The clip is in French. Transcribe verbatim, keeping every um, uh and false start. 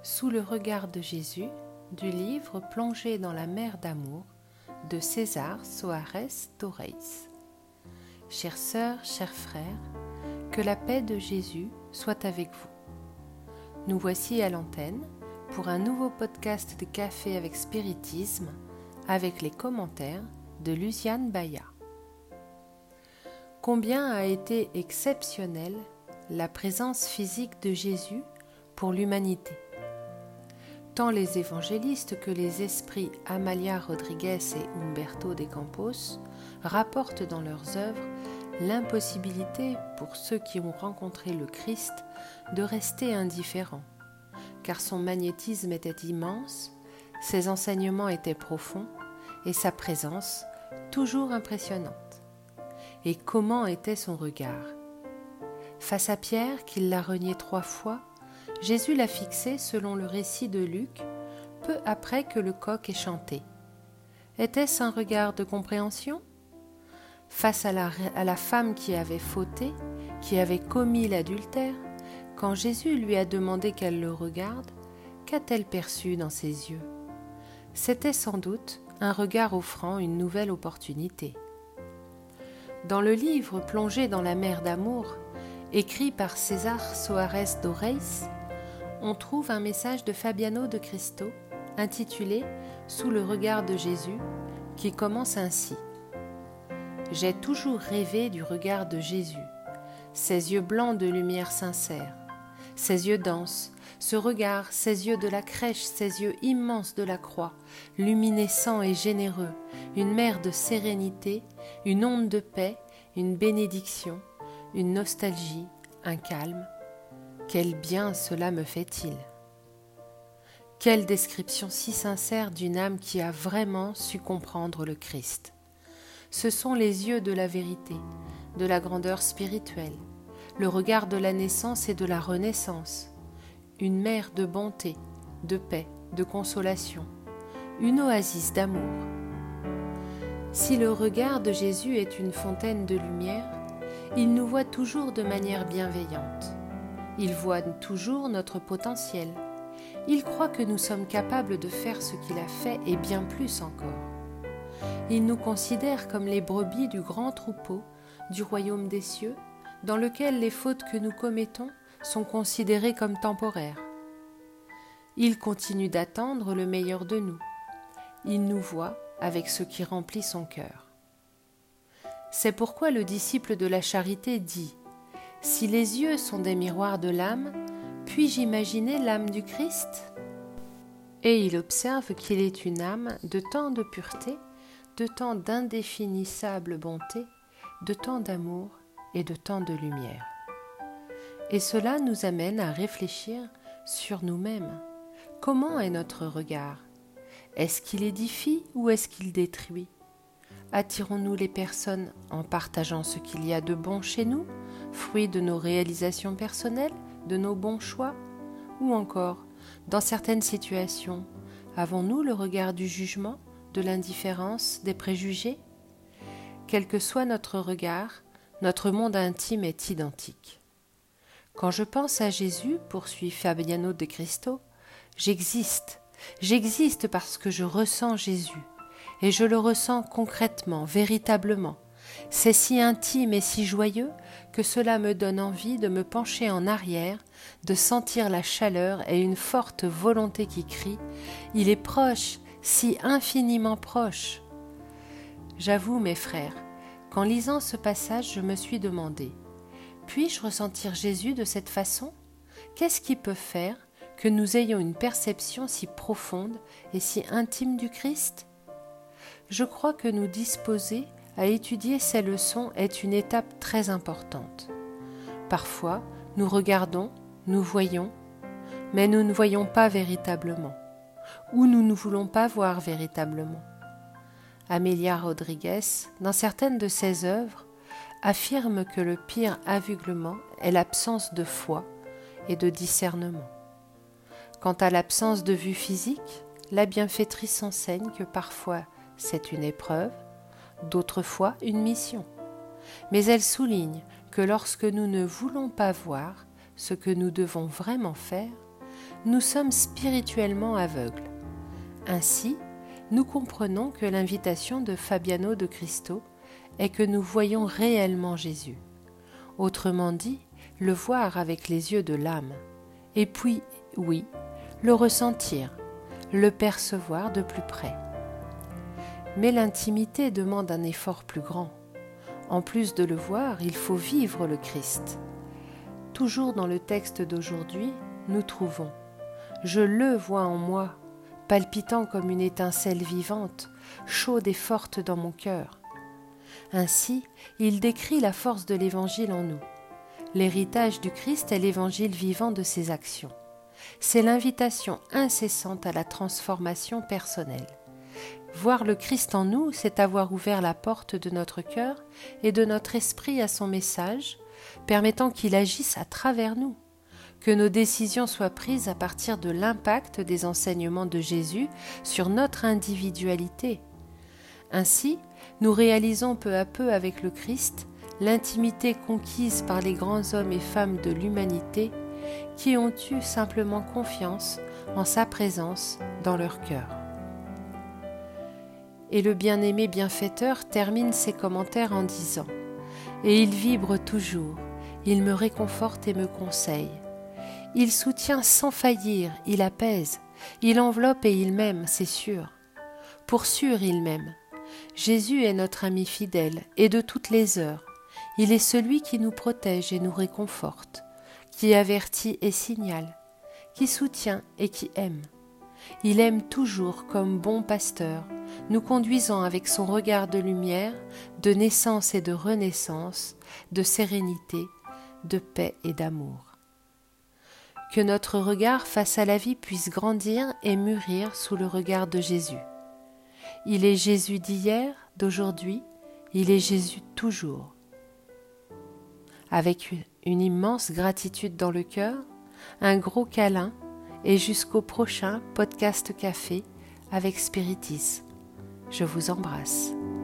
Sous le regard de Jésus, du livre Plongé dans la mer d'amour de César Soares Torres. Chères sœurs, chers frères, que la paix de Jésus soit avec vous. Nous voici à l'antenne pour un nouveau podcast de Café avec Spiritisme avec les commentaires de Luciane Baya. Combien a été exceptionnelle la présence physique de Jésus pour l'humanité. Tant les évangélistes que les esprits Amalia Rodriguez et Humberto de Campos rapportent dans leurs œuvres l'impossibilité pour ceux qui ont rencontré le Christ de rester indifférents, car son magnétisme était immense, ses enseignements étaient profonds et sa présence toujours impressionnante. Et comment était son regard ? Face à Pierre, qui l'a renié trois fois, Jésus l'a fixé selon le récit de Luc, peu après que le coq ait chanté. Était-ce un regard de compréhension ? Face à la, à la femme qui avait fauté, qui avait commis l'adultère, quand Jésus lui a demandé qu'elle le regarde, qu'a-t-elle perçu dans ses yeux ? C'était sans doute un regard offrant une nouvelle opportunité. Dans le livre Plongé dans la mer d'amour, écrit par César Soares Torres, on trouve un message de Fabiano de Cristo intitulé « Sous le regard de Jésus » qui commence ainsi. « J'ai toujours rêvé du regard de Jésus, ses yeux blancs de lumière sincère, ses yeux denses, ce regard, ses yeux de la crèche, ses yeux immenses de la croix, luminescents et généreux, une mer de sérénité, une onde de paix, une bénédiction, une nostalgie, un calme. Quel bien cela me fait-il ! Quelle description si sincère d'une âme qui a vraiment su comprendre le Christ. Ce sont les yeux de la vérité, de la grandeur spirituelle, le regard de la naissance et de la renaissance, une mer de bonté, de paix, de consolation, une oasis d'amour. Si le regard de Jésus est une fontaine de lumière, il nous voit toujours de manière bienveillante. Il voit toujours notre potentiel. Il croit que nous sommes capables de faire ce qu'il a fait et bien plus encore. Il nous considère comme les brebis du grand troupeau du royaume des cieux, dans lequel les fautes que nous commettons sont considérées comme temporaires. Il continue d'attendre le meilleur de nous. Il nous voit avec ce qui remplit son cœur. C'est pourquoi le disciple de la charité dit « Si les yeux sont des miroirs de l'âme, puis-je imaginer l'âme du Christ ?» Et il observe qu'il est une âme de tant de pureté, de tant d'indéfinissable bonté, de tant d'amour et de tant de lumière. Et cela nous amène à réfléchir sur nous-mêmes. Comment est notre regard ? Est-ce qu'il édifie ou est-ce qu'il détruit ? Attirons-nous les personnes en partageant ce qu'il y a de bon chez nous, fruit de nos réalisations personnelles, de nos bons choix ? Ou encore, dans certaines situations, avons-nous le regard du jugement, de l'indifférence, des préjugés ? Quel que soit notre regard, notre monde intime est identique. Quand je pense à Jésus, poursuit Fabiano de Cristo, j'existe. J'existe parce que je ressens Jésus. Et je le ressens concrètement, véritablement. C'est si intime et si joyeux que cela me donne envie de me pencher en arrière, de sentir la chaleur et une forte volonté qui crie « Il est proche, si infiniment proche !» J'avoue, mes frères, qu'en lisant ce passage, je me suis demandé « Puis-je ressentir Jésus de cette façon ? Qu'est-ce qui peut faire que nous ayons une perception si profonde et si intime du Christ ? Je crois que nous disposer à étudier ces leçons est une étape très importante. Parfois, nous regardons, nous voyons, mais nous ne voyons pas véritablement, ou nous ne voulons pas voir véritablement. Amélia Rodriguez, dans certaines de ses œuvres, affirme que le pire aveuglement est l'absence de foi et de discernement. Quant à l'absence de vue physique, la bienfaitrice enseigne que parfois c'est une épreuve, d'autres fois une mission. Mais elle souligne que lorsque nous ne voulons pas voir ce que nous devons vraiment faire, nous sommes spirituellement aveugles. Ainsi, nous comprenons que l'invitation de Fabiano de Cristo est que nous voyons réellement Jésus. Autrement dit, le voir avec les yeux de l'âme. Et puis, oui, le ressentir, le percevoir de plus près. Mais l'intimité demande un effort plus grand. En plus de le voir, il faut vivre le Christ. Toujours dans le texte d'aujourd'hui, nous trouvons « Je le vois en moi, palpitant comme une étincelle vivante, chaude et forte dans mon cœur. » Ainsi, il décrit la force de l'Évangile en nous. L'héritage du Christ est l'Évangile vivant de ses actions. C'est l'invitation incessante à la transformation personnelle. Voir le Christ en nous, c'est avoir ouvert la porte de notre cœur et de notre esprit à son message, permettant qu'il agisse à travers nous, que nos décisions soient prises à partir de l'impact des enseignements de Jésus sur notre individualité. Ainsi, nous réalisons peu à peu avec le Christ l'intimité conquise par les grands hommes et femmes de l'humanité qui ont eu simplement confiance en sa présence dans leur cœur. Et le bien-aimé bienfaiteur termine ses commentaires en disant « Et il vibre toujours, il me réconforte et me conseille. Il soutient sans faillir, il apaise, il enveloppe et il m'aime, c'est sûr. Pour sûr, il m'aime. Jésus est notre ami fidèle et de toutes les heures. Il est celui qui nous protège et nous réconforte, qui avertit et signale, qui soutient et qui aime. Il aime toujours comme bon pasteur, nous conduisant avec son regard de lumière, de naissance et de renaissance, de sérénité, de paix et d'amour. Que notre regard face à la vie puisse grandir et mûrir sous le regard de Jésus. Il est Jésus d'hier, d'aujourd'hui, il est Jésus toujours. Avec une immense gratitude dans le cœur, un gros câlin et jusqu'au prochain podcast café avec Spiritis. Je vous embrasse.